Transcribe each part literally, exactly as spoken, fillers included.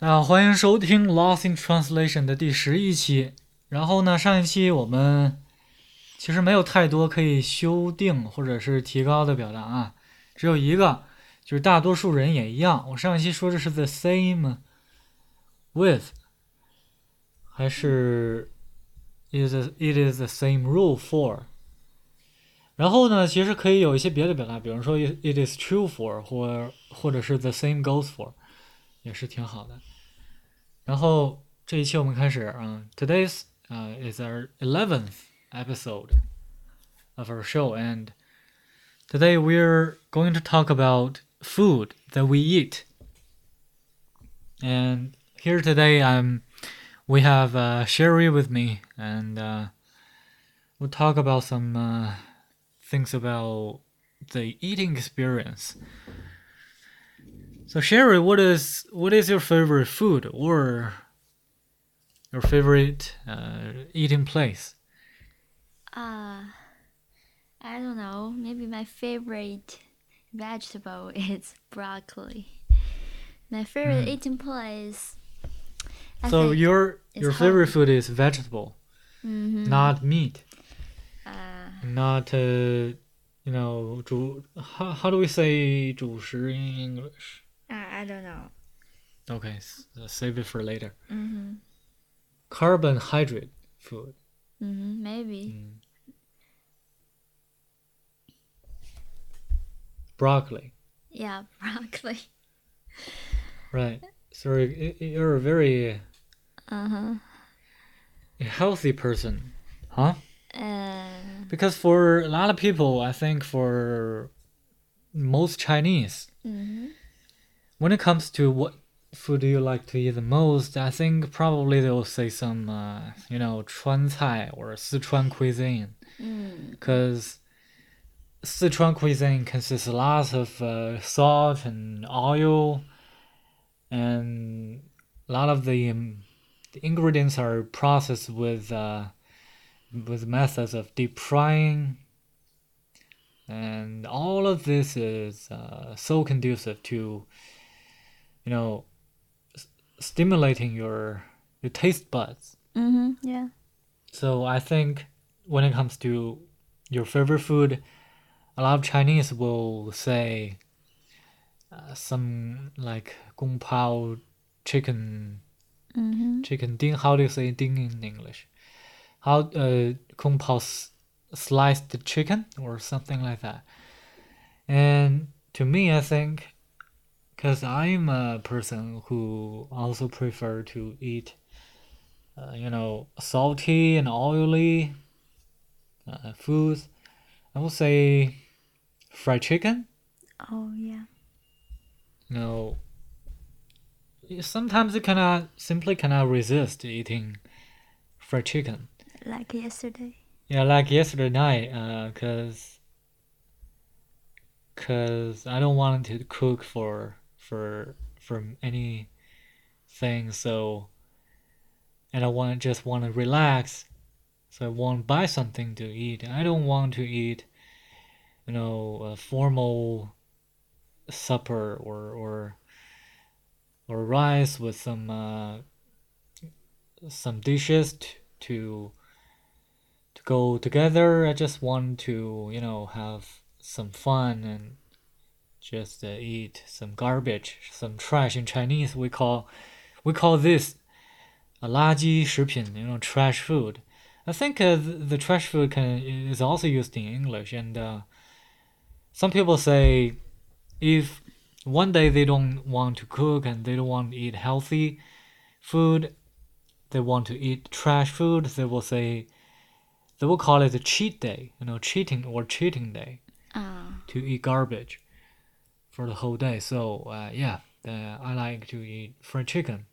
大家好，欢迎收听《Lost in Translation》的第十一期。然后呢，上一期我们其实没有太多可以修订或者是提高的表达啊，只有一个，就是大多数人也一样。我上一期说的是 the same with，还是 is it is the same rule for。然后呢，其实可以有一些别的表达，比如说 it is true for，或或者是 the same goes for，也是挺好的。然后这一期我们开始，嗯，today's uh, is our eleventh episode of our show, and today we're going to talk about food that we eat. And here today, I'm we have uh, Sherry with me, and uh, we'll talk about some uh, things about the eating experience. So Sherry, what is what is your favorite food or your favorite uh, eating place? Uh, I don't know. Maybe my favorite vegetable is broccoli. My favorite Mm. eating place. I So think your is your favorite home. food is vegetable, Mm-hmm. not meat, Uh, not uh, you know, 主 how how do we say 主食 in English? I, I don't know. Okay, s- uh, save it for later. Mm-hmm. Carbohydrate food. Mm-hmm. Maybe. Mm. Broccoli, Yeah, broccoli. right? So y- y- you're a very Uh-huh. healthy person, huh? Uh, Because for a lot of people, I think for most Chinese, mm-hmm. when it comes to what food do you like to eat the most, I think probably they'll say some, uh, you know, 川菜 or Sichuan cuisine. Mm. Because Sichuan cuisine consists a lot of uh, salt and oil, and a lot of the, um, the ingredients are processed with uh, with methods of deep frying, and all of this is uh, so conducive to, you know, stimulating your your taste buds. Mm-hmm. Yeah. So I think when it comes to your favorite food, a lot of Chinese will say uh, some like gong pao chicken Mm-hmm. chicken ding. How do you say ding in English? How uh kung pao s- sliced chicken or something like that. And to me, I think because I'm a person who also prefer to eat uh, you know, salty and oily uh, foods. I would say fried chicken. Oh, yeah. You know, sometimes you cannot simply cannot resist eating fried chicken. Like yesterday. Yeah, like yesterday night, uh, cause, cause I don't want to cook for for for anything. So, and I want just want to relax. So I want to buy something to eat. I don't want to eat, you know, a formal supper or or or rice with some uh, some dishes t- to to go together. I just want to, you know, have some fun and just uh, eat some garbage, some trash. In Chinese, we call we call this a 垃圾食品, you know, trash food. I think uh, the, the trash food can is also used in English, and uh, some people say if one day they don't want to cook and they don't want to eat healthy food, they want to eat trash food, they will say they will call it a cheat day, you know, cheating or cheating day Uh, to eat garbage for the whole day. So uh, yeah, uh, I like to eat fried chicken.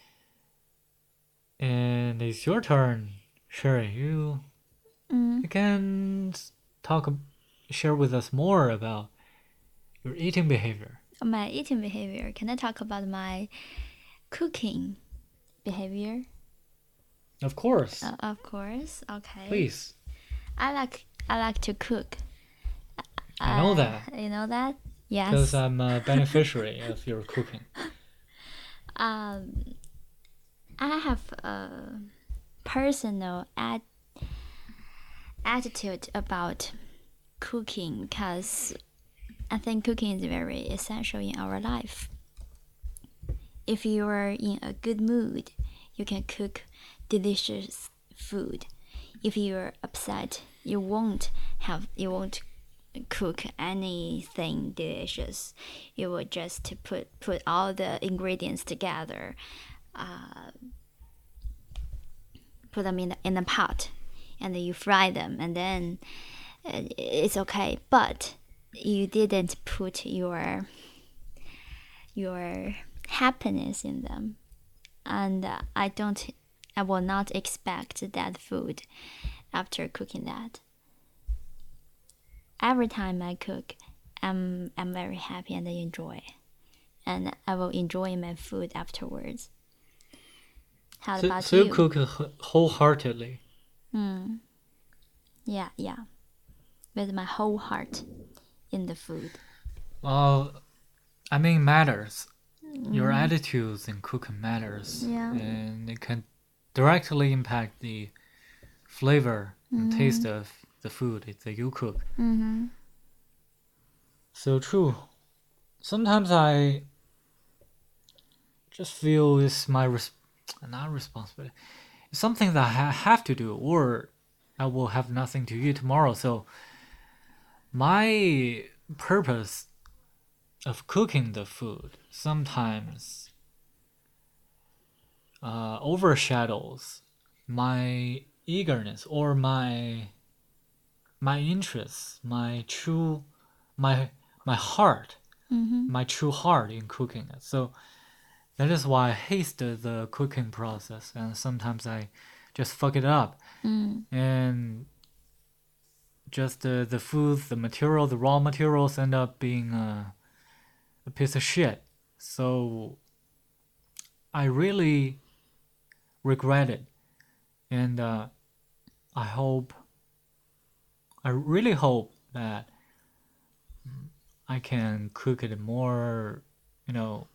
And it's your turn, Sherry. You mm. you can talk, share with us more about your eating behavior. My eating behavior. Can I talk about my cooking behavior? Of course, Uh, of course. Okay. please. I like I like to cook. I know Uh, that you know that? because Yes. I'm a beneficiary of your cooking. Um, I have a personal ad- attitude about cooking because I think cooking is very essential in our life. If you are in a good mood, you can cook delicious food. If you're upset, you won't have you won't cook anything delicious. You will just put put all the ingredients together, uh, put them in the, in a pot, and then you fry them, and then uh, it's okay. But you didn't put your your happiness in them, and uh, I don't. I will not expect that food after cooking that. Every time I cook, I'm I'm very happy and I enjoy, and I will enjoy my food afterwards. How So, about so you you? cook wh- wholeheartedly. Mm, yeah, yeah, with my whole heart in the food. Well, I mean, matters. Your Mm, attitudes in cooking matters, yeah. and it can directly impact the flavor and taste Mm, of the food that you cook. mm-hmm. So true. Sometimes I just feel it's my res- not responsibility. It's something that I ha- have to do, or I will have nothing to eat tomorrow. So my purpose of cooking the food sometimes uh, overshadows my eagerness or my my interests, my true my my heart, Mm-hmm. my true heart in cooking it. So that is why I hate the, the cooking process, and sometimes I just fuck it up, Mm, and just the the food, the material, the raw materials end up being a, a piece of shit. So I really regret it, and uh, I hope, I really hope that I can cook it more, you know,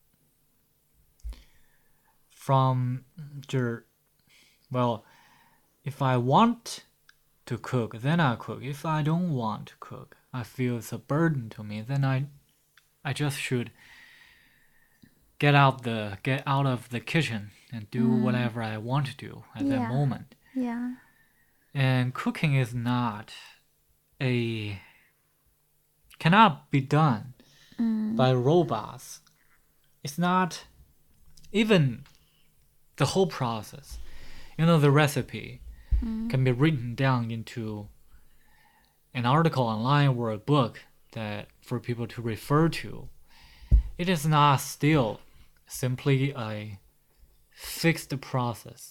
from your, well, if I want to cook, then I cook. If I don't want to cook, I feel it's a burden to me, then I I just should get out the get out of the kitchen and do mm, whatever I want to do at that yeah, moment. yeah. And cooking is not a cannot be done Mm, by robots. It's not even the whole process. You know, the recipe mm, can be written down into an article online or a book that for people to refer to. It is not still simply a fixed process.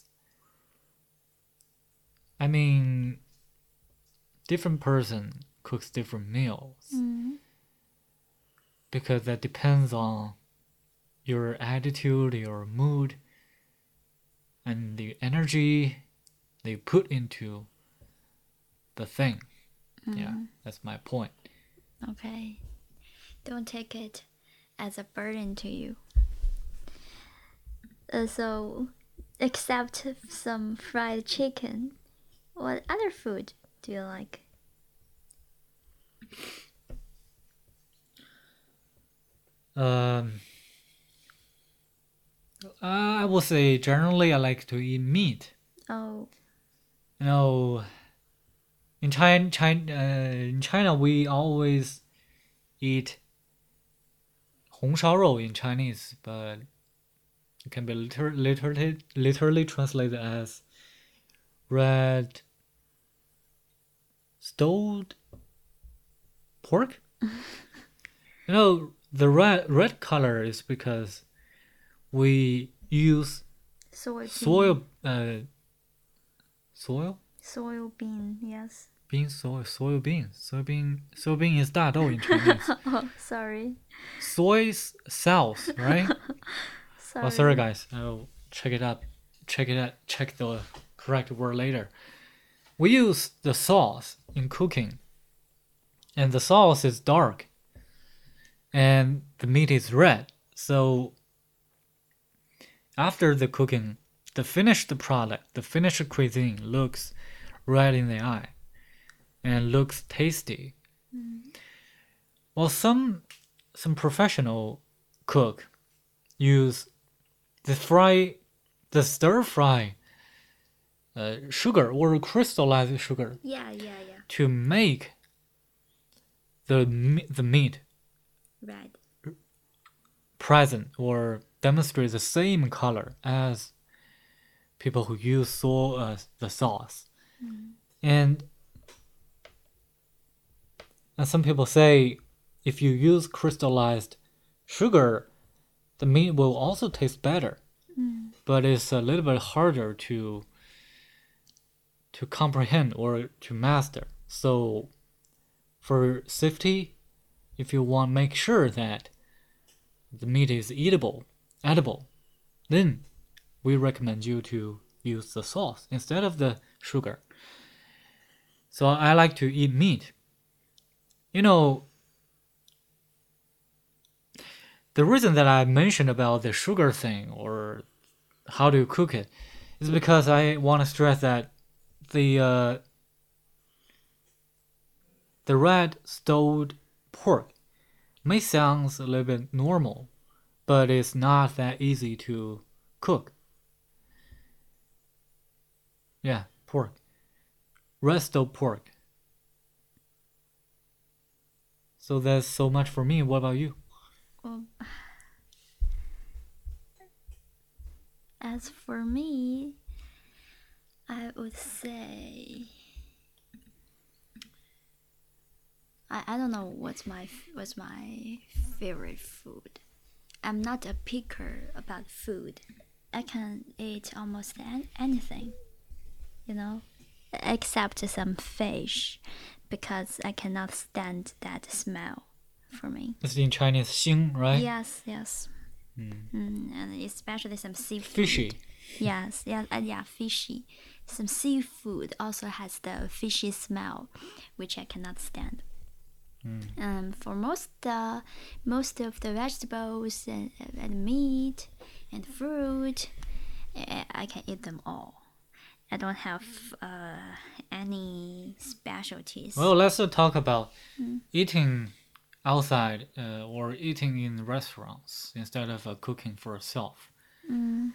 I mean, different person cooks different meals mm, because that depends on your attitude, your mood, and the energy they put into the thing. Yeah, mm. that's my point. Okay. Don't take it as a burden to you. Uh, so, except some fried chicken, what other food do you like? Um, I will say generally I like to eat meat. Oh, You know, in China, China, uh, in China, we always eat 红烧肉 in Chinese, but it can be liter- literally literally translated as red stewed pork. You know, the red red color is because we use soybean. soil uh soil Soybean, yes. bean soy soybean soybean soybean is 大豆 in Chinese. Oh, sorry. Soy cells, right? Oh, sorry Sorry. guys. I'll check it up. Check it out. Check the correct word later. We use the sauce in cooking, and the sauce is dark, and the meat is red. So after the cooking, the finished product, the finished cuisine looks right in the eye and looks tasty. Mm. Well, some some professional cook use the fry, the stir fry uh, sugar or crystallized sugar Yeah, yeah, yeah. to make the the meat Right. present or demonstrate the same color as people who use so, uh, the sauce. Mm. And and some people say if you use crystallized sugar, the meat will also taste better. Mm. But it's a little bit harder to to comprehend or to master. So for safety, if you want to make sure that the meat is eatable, edible, then we recommend you to use the sauce instead of the sugar. So I like to eat meat. You know, the reason that I mentioned about the sugar thing or how to cook it is because I want to stress that the uh, the red stewed pork may sound a little bit normal, but it's not that easy to cook. Yeah, pork. Red stewed pork. So that's so much for me. What about you? Well, as for me, I would say I, I don't know what's my what's my favorite food. I'm not a picker about food. I can eat almost an, anything, you know, except some fish, because I cannot stand that smell for me. It's in Chinese, 腥, right? Yes, yes. Mm. Mm, and especially some seafood. Fishy. Yes, yeah, uh, yeah, fishy. Some seafood also has the fishy smell, which I cannot stand. Mm. Um, for most uh, most of the vegetables and, and meat and fruit, I, I can eat them all. I don't have uh, any specialties. Well, let's uh, talk about Mm. eating outside uh, or eating in restaurants instead of uh, cooking for yourself. Mm.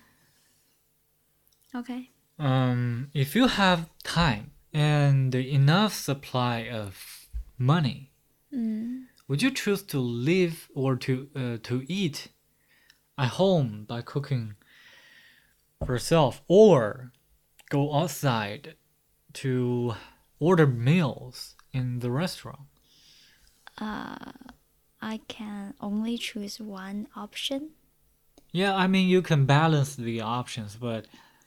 Okay. Um, if you have time and enough supply of money, Mm. would you choose to live or to uh, to eat at home by cooking for yourself, or go outside to order meals in the restaurant? Uh, I can only choose one option. Yeah, I mean you can balance the options, but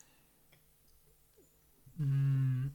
mm,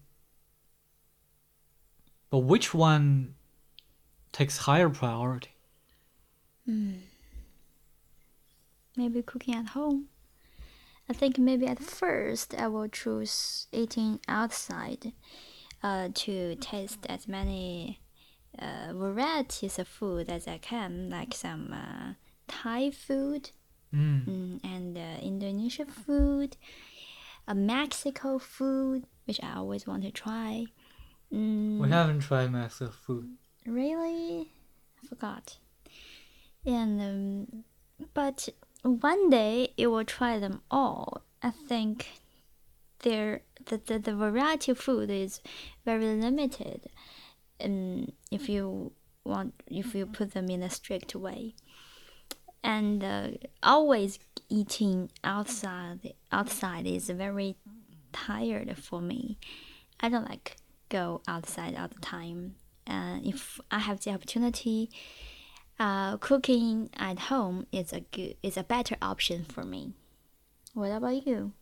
but which one takes higher priority? Mm. Maybe cooking at home. I think maybe at first I will choose eating outside uh, to taste as many uh, varieties of food as I can, like some uh, Thai food Mm. mm, and uh, Indonesian food, uh, Mexico food, which I always want to try. Mm, We haven't tried Mexican food. Really? I forgot. And um, but one day you will try them all. I think there the, the, the variety of food is very limited. And if you want, if you put them in a strict way, and uh, always eating outside outside is very tired for me. I don't like go outside all the time. And if I have the opportunity, uh, cooking at home is a good is a better option for me. What about you?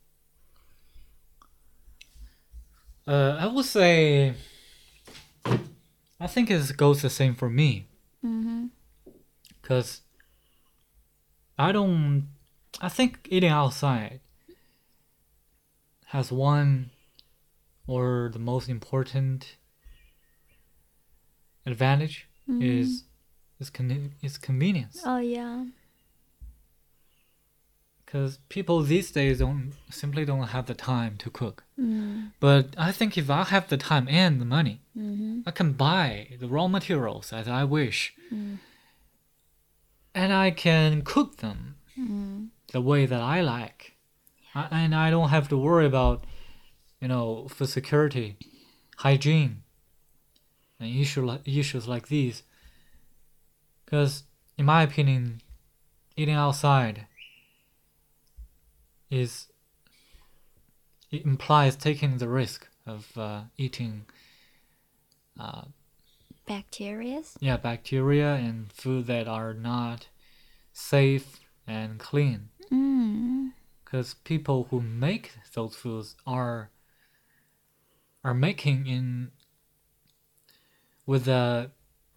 Uh, I would say I think it goes the same for me. Mm-hmm. Because I don't. I think eating outside has one or the most important advantage Mm-hmm. is is con- is convenience. Oh yeah. because people these days don't simply don't have the time to cook. Mm. But I think if I have the time and the money, Mm-hmm. I can buy the raw materials as I wish, Mm. and I can cook them Mm. the way that I like. I, and I don't have to worry about, you know, food security, hygiene, and issue, issues like these. Because, in my opinion, eating outside is it implies taking the risk of uh, eating uh, Bacterias. yeah, bacteria and food that are not safe and clean. Mm. Because people who make those foods are are making in with the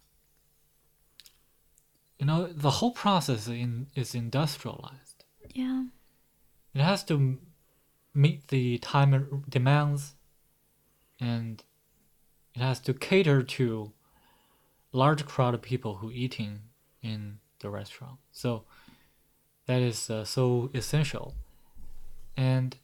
you know the whole process in, is industrialized. Yeah. It has to meet the time demands, and it has to cater to large crowd of people who eating in the restaurant. So that is uh, so essential, and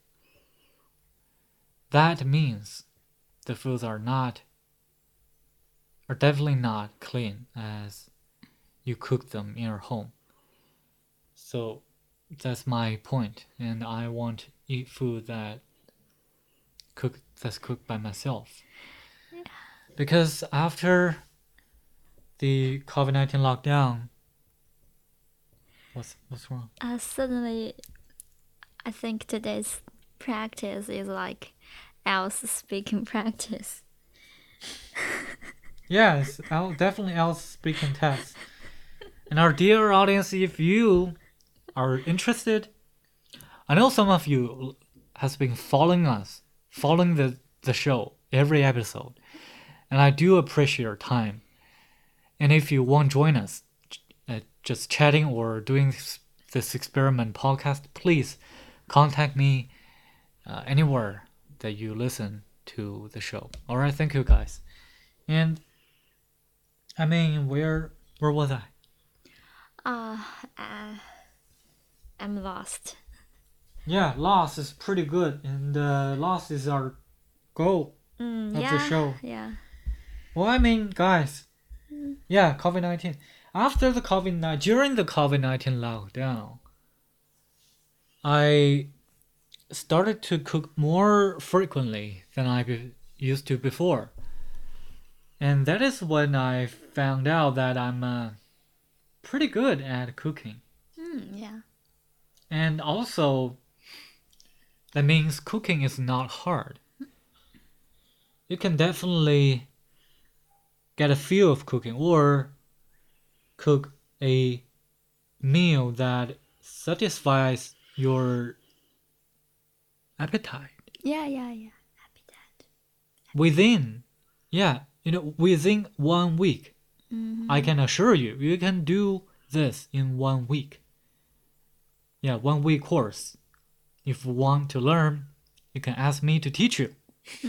that means the foods are not are definitely not clean as you cook them in your home. So that's my point, and I want to eat food that cook that's cooked by myself. Because after the COVID nineteen lockdown, what's what's wrong? Uh, suddenly, I think today's practice is like else speaking practice. Yes, I'll definitely else speaking test. And our dear audience, if you are interested, I know some of you has been following us, following the, the show every episode, and I do appreciate your time. And if you want to join us, uh, just chatting or doing this, this experiment podcast, please contact me uh, anywhere that you listen to the show. All right, thank you guys. And I mean, where where was I? Uh, uh, I'm lost. Yeah, Lost is pretty good, and uh, Lost is our goal Mm, of yeah. the show. Yeah. Well, I mean, guys, yeah, COVID nineteen. After the COVID nineteen, during the COVID nineteen lockdown, I started to cook more frequently than I be- used to before. And that is when I found out that I'm uh, pretty good at cooking. Mm, yeah. And also, that means cooking is not hard. You can definitely get a feel of cooking or cook a meal that satisfies your appetite Yeah, yeah, yeah. Happy that. within, yeah, you know, within one week. Mm-hmm. I can assure you, you can do this in one week. Yeah, one week course. If you want to learn, you can ask me to teach you.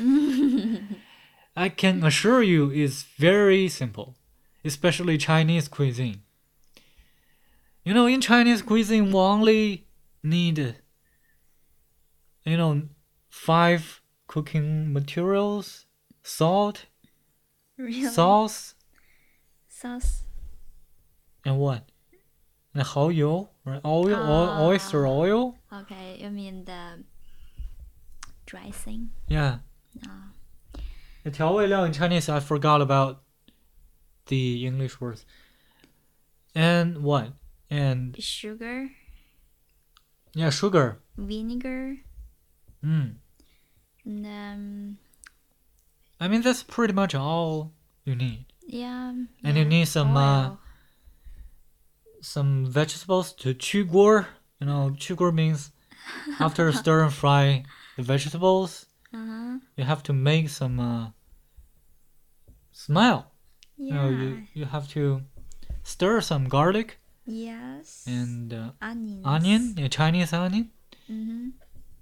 I can assure you it's very simple, especially Chinese cuisine. You know, in Chinese cuisine, we only need, you know, five cooking materials, salt, Really? sauce, Sauce. and what? And 蚝油, right? Oil, Ah. oil, oyster oil. Okay, you mean the dressing? Yeah. Ah. The 调味料 in Chinese, I forgot about the English words. And what? And Sugar, yeah, sugar. vinegar, Mm. and um, I mean, that's pretty much all you need. yeah. And yeah, you need some uh, oil. some vegetables to 去锅. You know, 去锅 means after stir and fry the vegetables, Uh-huh. you have to make some uh, smell. Yeah. You know, you, you have to stir some garlic Yes. and uh, onions. onion, yeah, Chinese onion, Mm-hmm.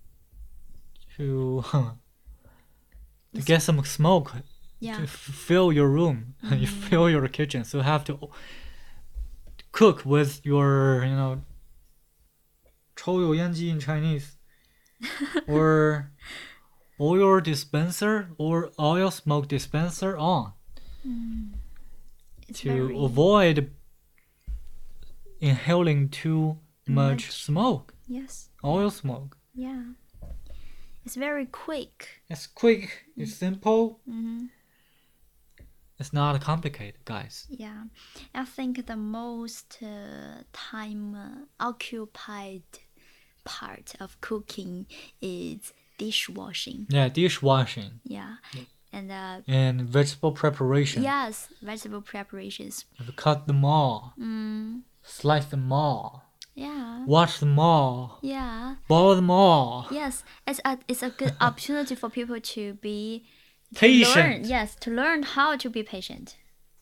to to get some smoke Yeah. to f- fill your room, you fill your kitchen. So you have to cook with your, you know, 抽油烟机 in Chinese, or oil dispenser or oil smoke dispenser on Mm. It's to very avoid inhaling too much, Much. smoke, yes. oil smoke. Yeah. It's very quick. It's quick, it's simple, Mm-hmm. it's not complicated, guys. Yeah. I think the most uh, time uh, occupied part of cooking is dishwashing. Yeah, dishwashing Yeah. And uh, and vegetable preparation. yes, vegetable preparations. You cut them all, Mm, slice them all, yeah. wash them all, Yeah. boil them all. Yes, it's a it's a good opportunity for people to be to Patient. learn. Yes, to learn how to be patient.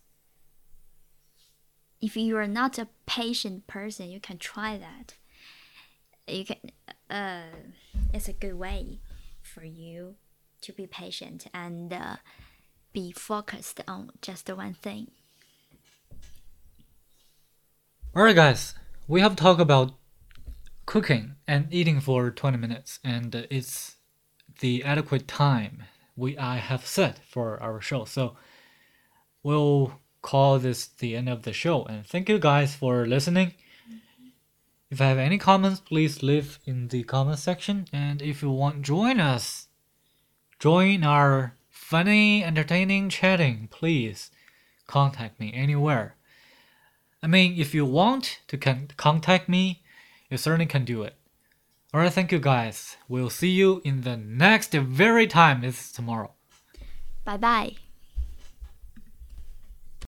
If you are not a patient person, you can try that. You can. Uh, it's a good way for you to be patient and uh, be focused on just one thing. Alright, guys, we have talked about cooking and eating for twenty minutes, and uh, it's the adequate time we I have set for our show. So we'll call this the end of the show, and thank you guys for listening. If you have any comments, please leave in the comment section, and if you want to join us, join our funny, entertaining chatting, please contact me anywhere. I mean, if you want to con- contact me, you certainly can do it. Alright, thank you guys. We'll see you in the next very time. It's tomorrow. Bye bye.